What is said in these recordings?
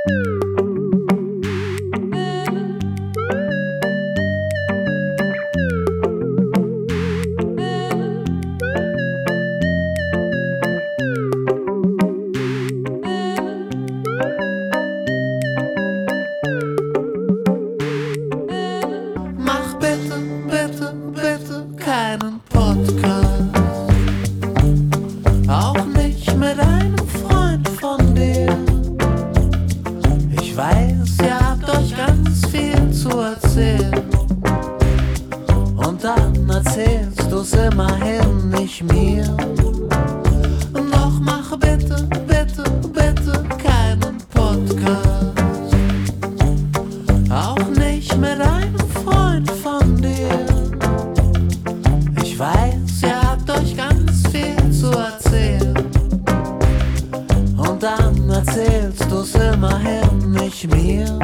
Mach bitte, bitte, bitte keinen Podcast. Auch nicht mit einem Freund von dir. Ich weiß, ihr habt euch ganz viel zu erzählen. Und dann erzählst du's immerhin nicht mir. Doch mach bitte, bitte, bitte keinen Podcast. Auch nicht mit einem Freund von dir. Ich weiß, ihr habt euch ganz viel zu erzählen. Und dann erzählst du's immerhin nicht mir.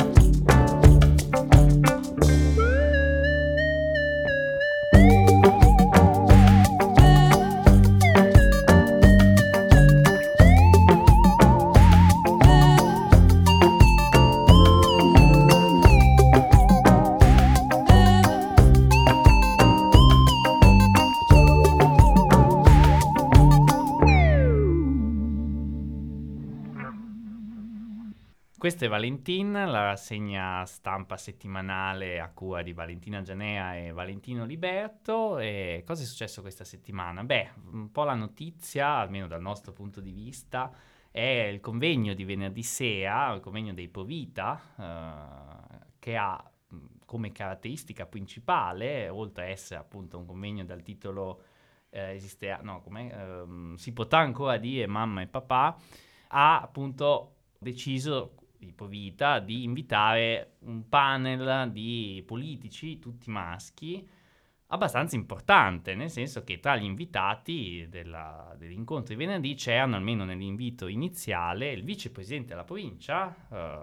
Questa è Valentin, la rassegna stampa settimanale a cura di Valentina Gianea e Valentino Liberto. E cosa è successo questa settimana? Beh, un po' la notizia, almeno dal nostro punto di vista, è il convegno di venerdì sera, il convegno dei Provita, che ha come caratteristica principale, oltre a essere appunto un convegno dal titolo si potrà ancora dire mamma e papà, ha appunto deciso di Provita di invitare un panel di politici, tutti maschi, abbastanza importante, nel senso che tra gli invitati dell'incontro di venerdì c'erano, almeno nell'invito iniziale, il vicepresidente della provincia,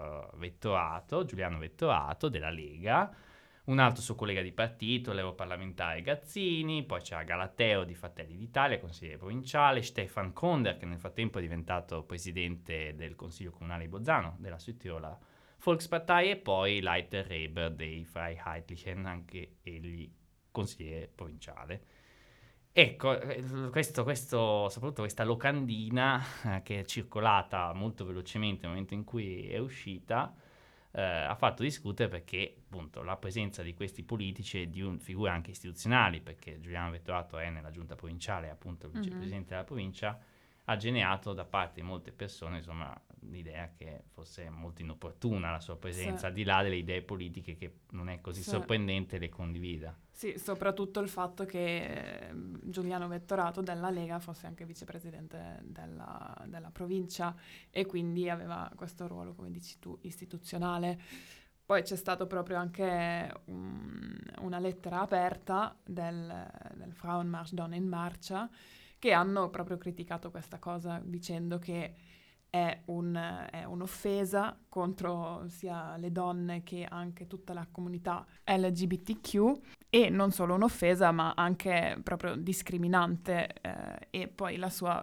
Giuliano Vettorato, della Lega, un altro suo collega di partito, l'europarlamentare Gazzini, poi c'era Galateo di Fratelli d'Italia, consigliere provinciale, Stefan Konder, che nel frattempo è diventato presidente del Consiglio Comunale di Bolzano, della Südtiroler Volkspartei, e poi Leiter Reber dei Freiheitlichen, anche egli consigliere provinciale. Ecco, soprattutto questa locandina che è circolata molto velocemente nel momento in cui è uscita, ha fatto discutere perché appunto la presenza di questi politici e di figure anche istituzionali, perché Giuliano Vettorato è nella giunta provinciale, appunto il vicepresidente della provincia, ha generato da parte di molte persone insomma l'idea che fosse molto inopportuna la sua presenza, al di là delle idee politiche che non è così sorprendente le condivida. Sì, soprattutto il fatto che Giuliano Vettorato della Lega fosse anche vicepresidente della provincia e quindi aveva questo ruolo, come dici tu, istituzionale. Poi c'è stato proprio anche una lettera aperta del Frauenmarsch Donne in Marcia, che hanno proprio criticato questa cosa dicendo che è un'offesa contro sia le donne che anche tutta la comunità LGBTQ, e non solo un'offesa ma anche proprio discriminante, e poi la sua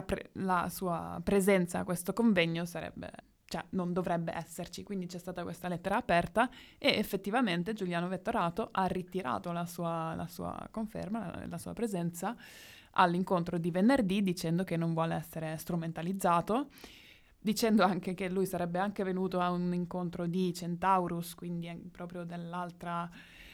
presenza a questo convegno non dovrebbe esserci. Quindi c'è stata questa lettera aperta e effettivamente Giuliano Vettorato ha ritirato la sua conferma, la sua presenza all'incontro di venerdì, dicendo che non vuole essere strumentalizzato, dicendo anche che lui sarebbe anche venuto a un incontro di Centaurus, quindi proprio dell'altro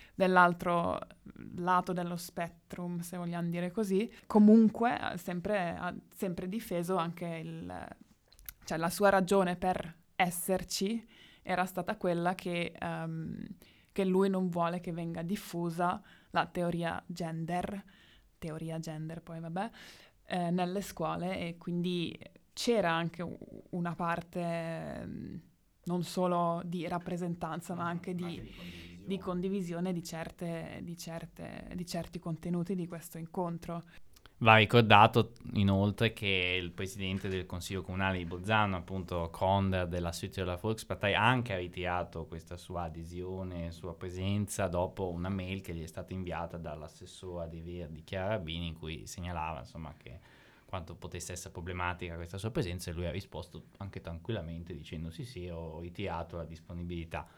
lato dello spectrum, se vogliamo dire così. Comunque ha sempre difeso anche la sua ragione per esserci era stata quella che lui non vuole che venga diffusa la teoria gender poi vabbè, nelle scuole, e quindi c'era anche una parte non solo di rappresentanza ma anche di condivisione di certi contenuti di questo incontro. Va ricordato inoltre che il presidente del Consiglio Comunale di Bolzano, appunto Konder della Südtiroler Volkspartei, anche ha ritirato questa sua adesione, sua presenza dopo una mail che gli è stata inviata dall'assessora dei Verdi Chiara Rabini, in cui segnalava insomma che quanto potesse essere problematica questa sua presenza, e lui ha risposto anche tranquillamente dicendo sì, ho ritirato la disponibilità.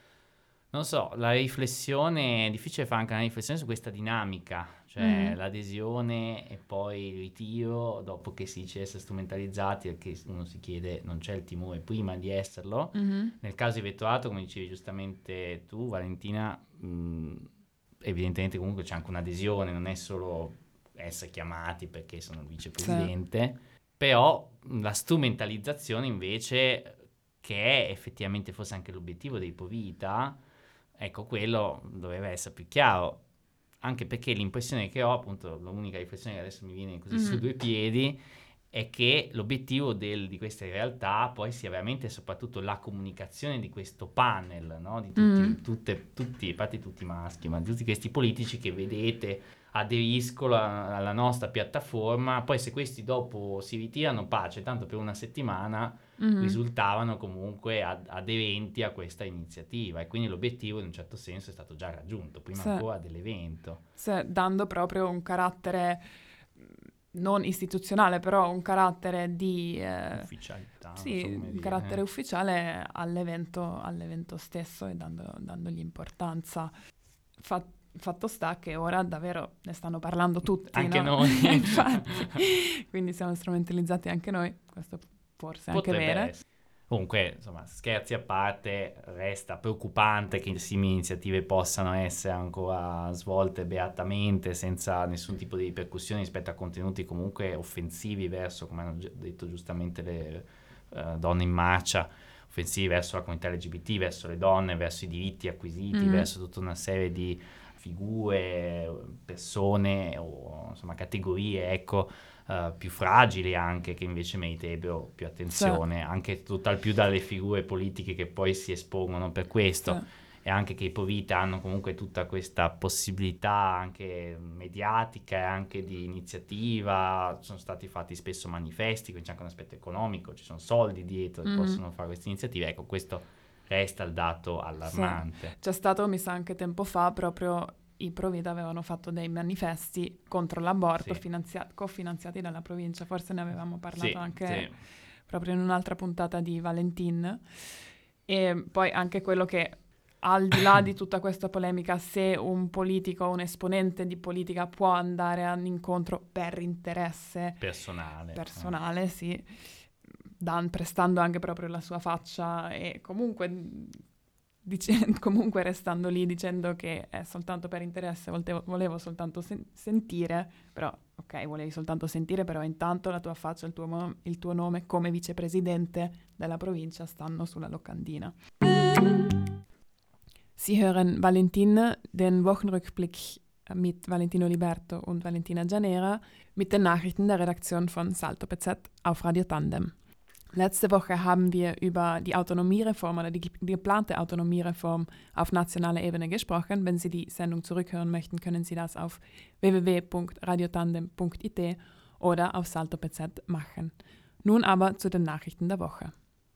Non so, la riflessione, è difficile fare anche una riflessione su questa dinamica, cioè l'adesione e poi il ritiro dopo che si dice di essere strumentalizzati, perché uno si chiede, non c'è il timore prima di esserlo. Nel caso di Vettorato, come dicevi giustamente tu, Valentina, evidentemente comunque c'è anche un'adesione, non è solo essere chiamati perché sono il vicepresidente, però la strumentalizzazione invece, che è effettivamente forse anche l'obiettivo dei Povita, ecco, quello doveva essere più chiaro, anche perché l'impressione che ho, appunto, l'unica riflessione che adesso mi viene così su due piedi, è che l'obiettivo di queste realtà poi sia veramente e soprattutto la comunicazione di questo panel, no? Di tutti, a parte tutti maschi, ma di tutti questi politici che vedete aderiscono alla nostra piattaforma, poi se questi dopo si ritirano, pace, tanto per una settimana risultavano comunque aderenti a questa iniziativa, e quindi l'obiettivo in un certo senso è stato già raggiunto prima ancora dell'evento. Dando proprio un carattere non istituzionale, però un carattere di ufficialità, un carattere ufficiale all'evento stesso, e dandogli importanza. Fatto sta che ora davvero ne stanno parlando tutti, anche no? noi. Infatti, quindi siamo strumentalizzati anche noi, questo forse anche vero. Comunque, insomma, scherzi a parte, resta preoccupante che simili iniziative possano essere ancora svolte beatamente, senza nessun tipo di ripercussioni rispetto a contenuti comunque offensivi verso, come hanno detto giustamente le donne in marcia, offensivi verso la comunità LGBT, verso le donne, verso i diritti acquisiti, verso tutta una serie di figure, persone o insomma categorie, ecco, più fragili anche, che invece meriterebbero più attenzione, anche tutt'al più dalle figure politiche che poi si espongono per questo, e anche che i Povita hanno comunque tutta questa possibilità anche mediatica e anche di iniziativa, sono stati fatti spesso manifesti, quindi c'è anche un aspetto economico, ci sono soldi dietro che possono fare queste iniziative, ecco, questo resta il dato allarmante. C'è stato, mi sa, anche tempo fa, proprio i Provida avevano fatto dei manifesti contro l'aborto cofinanziati dalla provincia, forse ne avevamo parlato anche proprio in un'altra puntata di Valentin. E poi anche quello che, al di là di tutta questa polemica, se un politico o un esponente di politica può andare all'incontro per interesse personale, sì, prestando anche proprio la sua faccia e comunque restando lì dicendo che è soltanto per interesse, volevo soltanto sentire, però ok, volevi soltanto sentire, però intanto la tua faccia, il tuo nome come vicepresidente della provincia stanno sulla locandina. Sie hören Valentin, den Wochenrückblick mit Valentino Liberto und Valentina Gianera mit den Nachrichten der Redaktion von Salto PZ auf Radio Tandem. Letzte Woche haben wir über die Autonomiereform oder die geplante Autonomiereform auf nationaler Ebene gesprochen. Wenn Sie die Sendung zurückhören möchten, können Sie das auf www.radiotandem.it oder auf Salto PZ machen. Nun aber zu den Nachrichten der Woche.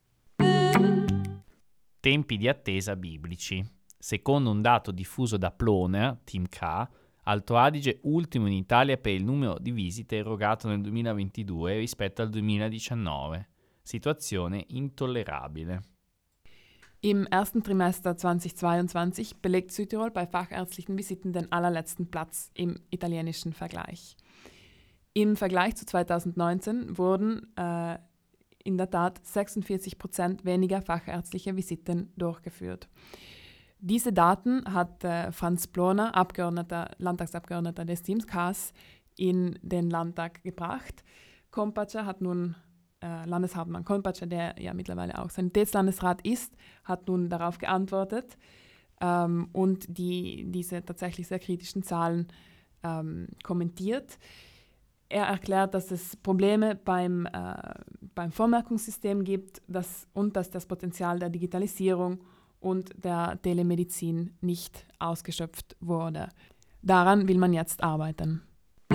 Tempi di attesa biblici. Secondo un dato diffuso da Ploner, Team K, Alto Adige ultimo in Italia per il numero di visite erogato nel 2022 rispetto al 2019. Situazione intollerabile. Im ersten Trimester 2022 belegt Südtirol bei fachärztlichen Visiten den allerletzten Platz im italienischen Vergleich. Im Vergleich zu 2019 wurden in der Tat 46% weniger fachärztliche Visiten durchgeführt. Diese Daten hat Franz Ploner, Landtagsabgeordneter des Teams K, in den Landtag gebracht. Kompatscher hat nun Landeshauptmann Kompatscher, der ja mittlerweile auch Sanitätslandesrat ist, hat nun darauf geantwortet und diese tatsächlich sehr kritischen Zahlen kommentiert. Er erklärt, dass es Probleme beim Vormerkungssystem gibt und dass das Potenzial der Digitalisierung und der Telemedizin nicht ausgeschöpft wurde. Daran will man jetzt arbeiten.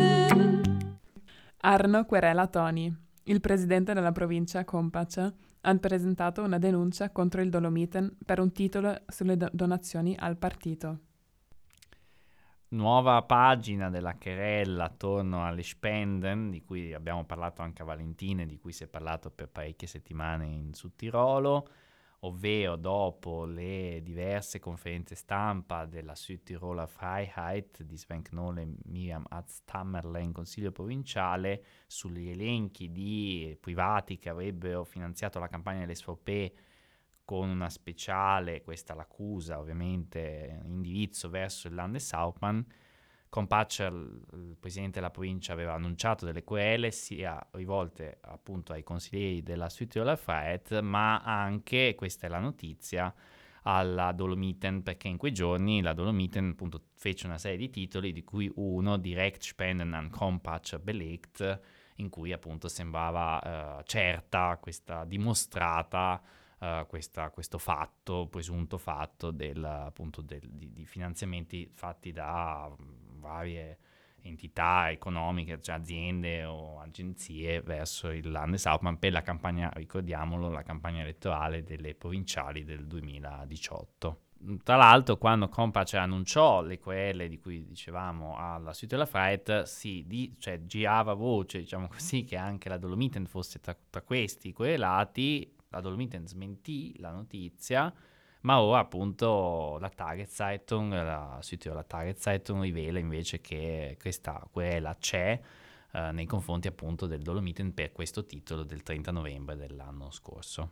Arno Querela Toni. Il presidente della provincia, Kompatscher, ha presentato una denuncia contro il Dolomiten per un titolo sulle donazioni al partito. Nuova pagina della querela attorno alle Spenden, di cui abbiamo parlato anche a Valentina, di cui si è parlato per parecchie settimane in Südtirolo, ovvero dopo le diverse conferenze stampa della Südtiroler Freiheit di Sven Knoll e Miriam Atztammerle in Consiglio provinciale sugli elenchi di privati che avrebbero finanziato la campagna dell'SVP con una speciale, questa l'accusa ovviamente, indirizzo verso il Landeshauptmann. Kompatcher, il presidente della provincia, aveva annunciato delle querele sia rivolte appunto ai consiglieri della Südtiroler Freiheit, ma anche, questa è la notizia, alla Dolomiten, perché in quei giorni la Dolomiten appunto fece una serie di titoli, di cui uno, Direct Spenden an Kompatcher belegt, in cui appunto sembrava certa, questa dimostrata, questo fatto, presunto fatto di finanziamenti fatti da varie entità economiche, cioè aziende o agenzie verso il Landeshauptmann per la campagna, ricordiamolo, la campagna elettorale delle provinciali del 2018. Tra l'altro, quando Kompatcher annunciò le querele di cui dicevamo alla Südtiroler Freiheit, girava voce, diciamo così, che anche la Dolomiten fosse tra questi querelati. La Dolomiten smentì la notizia, ma ora appunto la Tageszeitung, la Südtiroler Tageszeitung rivela invece che questa querela c'è nei confronti appunto del Dolomiten per questo titolo del 30 novembre dell'anno scorso.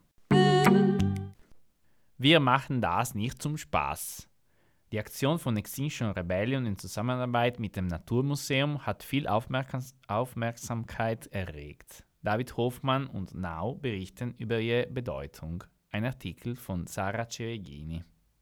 Wir machen das nicht zum Spaß. Die Aktion von Extinction Rebellion in Zusammenarbeit mit dem Naturmuseum hat viel Aufmerksamkeit erregt. David Hofmann und Now berichten über ihre Bedeutung. Ein Artikel von Sara Cereghini.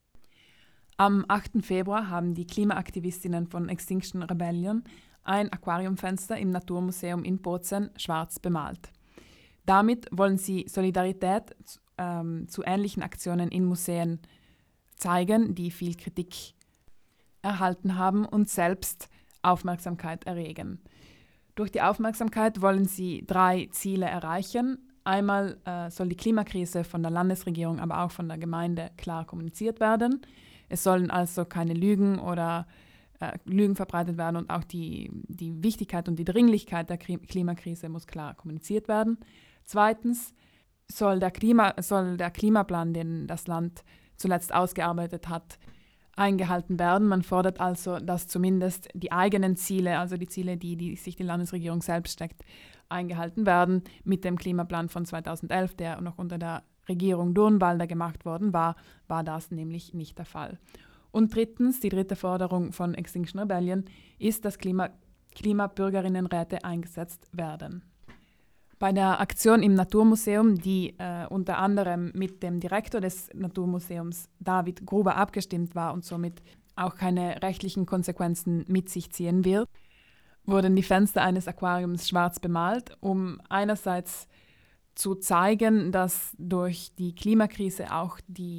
Am 8. Februar haben die Klimaaktivistinnen von Extinction Rebellion ein Aquariumfenster im Naturmuseum in Bozen schwarz bemalt. Damit wollen sie Solidarität zu ähnlichen Aktionen in Museen zeigen, die viel Kritik erhalten haben und selbst Aufmerksamkeit erregen. Durch die Aufmerksamkeit wollen sie 3 Ziele erreichen. Einmal soll die Klimakrise von der Landesregierung, aber auch von der Gemeinde klar kommuniziert werden. Es sollen also keine Lügen oder Lügen verbreitet werden und auch die Wichtigkeit und die Dringlichkeit der Klimakrise muss klar kommuniziert werden. Zweitens soll der Klimaplan, den das Land zuletzt ausgearbeitet hat, eingehalten werden. Man fordert also, dass zumindest die eigenen Ziele, also die Ziele, die sich die Landesregierung selbst steckt, eingehalten werden. Mit dem Klimaplan von 2011, der noch unter der Regierung Durnwalder gemacht worden war das nämlich nicht der Fall. Und drittens, die dritte Forderung von Extinction Rebellion ist, dass Klimabürgerinnenräte eingesetzt werden. Bei der Aktion im Naturmuseum, die unter anderem mit dem Direktor des Naturmuseums David Gruber abgestimmt war und somit auch keine rechtlichen Konsequenzen mit sich ziehen wird, wurden die Fenster eines Aquariums schwarz bemalt, um einerseits zu zeigen, dass durch die Klimakrise auch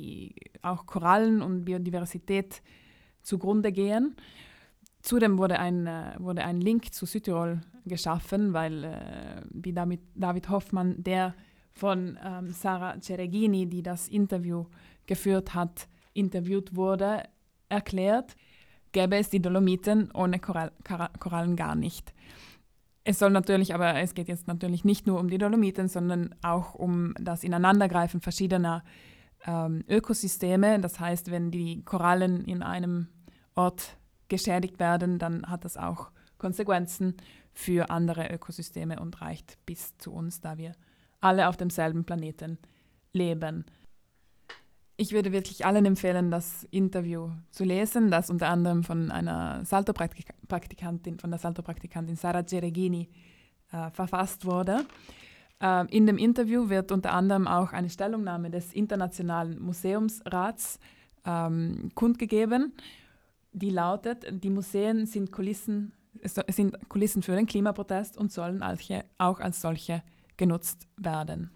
Korallen und Biodiversität zugrunde gehen. Zudem wurde ein Link zu Südtirol geschaffen, weil wie David Hofmann, der von Sara Cereghini, die das Interview geführt hat, interviewt wurde, erklärt, gäbe es die Dolomiten ohne Korallen gar nicht. Es geht jetzt natürlich nicht nur um die Dolomiten, sondern auch um das Ineinandergreifen verschiedener Ökosysteme. Das heißt, wenn die Korallen in einem Ort geschädigt werden, dann hat das auch Konsequenzen für andere Ökosysteme und reicht bis zu uns, da wir alle auf demselben Planeten leben. Ich würde wirklich allen empfehlen, das Interview zu lesen, das unter anderem von einer Salto-Praktikantin, Sara Cereghini verfasst wurde. In dem Interview wird unter anderem auch eine Stellungnahme des Internationalen Museumsrats kundgegeben, die lautet: Die Museen sind Kulissen für den Klimaprotest und sollen auch als solche genutzt werden.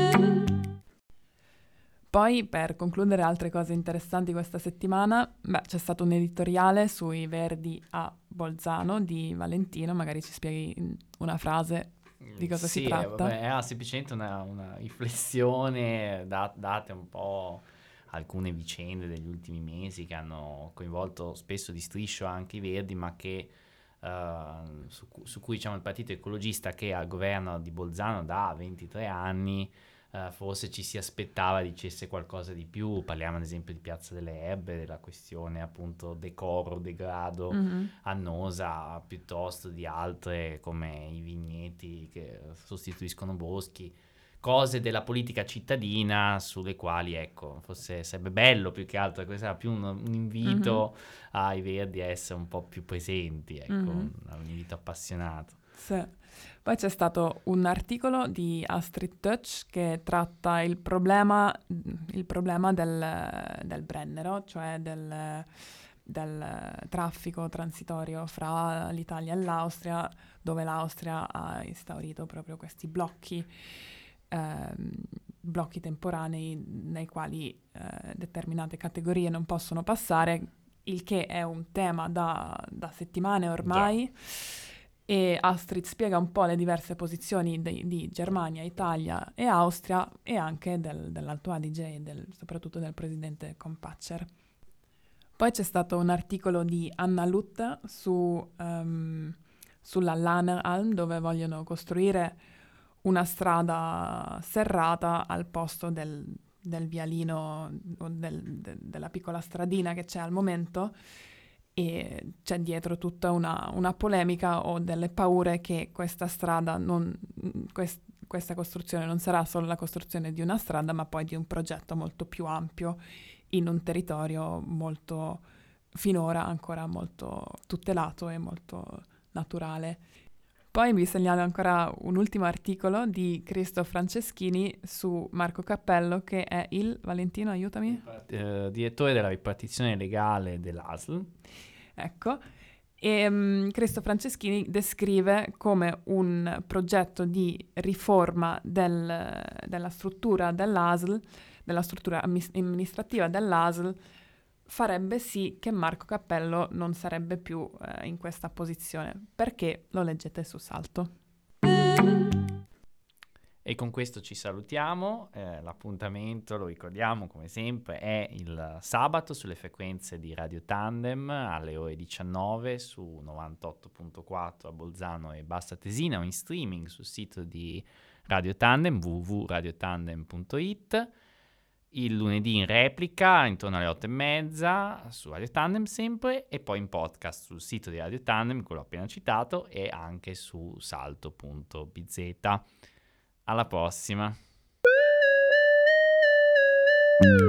Poi, per concludere altre cose interessanti questa settimana, c'è stato un editoriale sui Verdi a Bolzano di Valentino, magari ci spieghi in una frase di cosa si tratta. Era semplicemente una riflessione date un po' alcune vicende degli ultimi mesi che hanno coinvolto spesso di striscio anche i Verdi, ma che su cui diciamo il partito ecologista che al governo di Bolzano da 23 anni forse ci si aspettava dicesse qualcosa di più. Parliamo ad esempio di Piazza delle Erbe, della questione appunto decoro, degrado, annosa, piuttosto di altre come i vigneti che sostituiscono boschi, cose della politica cittadina sulle quali, ecco, forse sarebbe bello più che altro, questo era più un invito ai Verdi a essere un po' più presenti, ecco, un invito appassionato. Sì. Poi c'è stato un articolo di Astrid Tötsch che tratta il problema del Brennero, cioè del traffico transitorio fra l'Italia e l'Austria, dove l'Austria ha instaurito proprio questi blocchi temporanei nei quali determinate categorie non possono passare, il che è un tema da settimane ormai. Già. E Astrid spiega un po' le diverse posizioni di Germania, Italia e Austria, e anche dell'Alto Adige e soprattutto del presidente Kompatscher. Poi c'è stato un articolo di Anna Lutte sulla Lahner-Alm, dove vogliono costruire una strada serrata al posto del vialino o della piccola stradina che c'è al momento, e c'è dietro tutta una polemica o delle paure che questa strada questa costruzione non sarà solo la costruzione di una strada, ma poi di un progetto molto più ampio in un territorio molto, finora ancora molto tutelato e molto naturale. Poi vi segnalo ancora un ultimo articolo di Cristo Franceschini su Marco Cappello, che è il, Valentino, aiutami? Direttore della ripartizione legale dell'ASL. Ecco, e Cristo Franceschini descrive come un progetto di riforma della struttura dell'ASL, della struttura amministrativa dell'ASL, farebbe sì che Marco Cappello non sarebbe più in questa posizione, perché lo leggete su Salto. E con questo ci salutiamo, l'appuntamento, lo ricordiamo come sempre, è il sabato sulle frequenze di Radio Tandem alle ore 19 su 98.4 a Bolzano e Bassa Tesina, o in streaming sul sito di Radio Tandem, www.radiotandem.it. Il lunedì in replica intorno alle 8:30 su Radio Tandem sempre, e poi in podcast sul sito di Radio Tandem, quello appena citato, e anche su salto.bz. Alla prossima!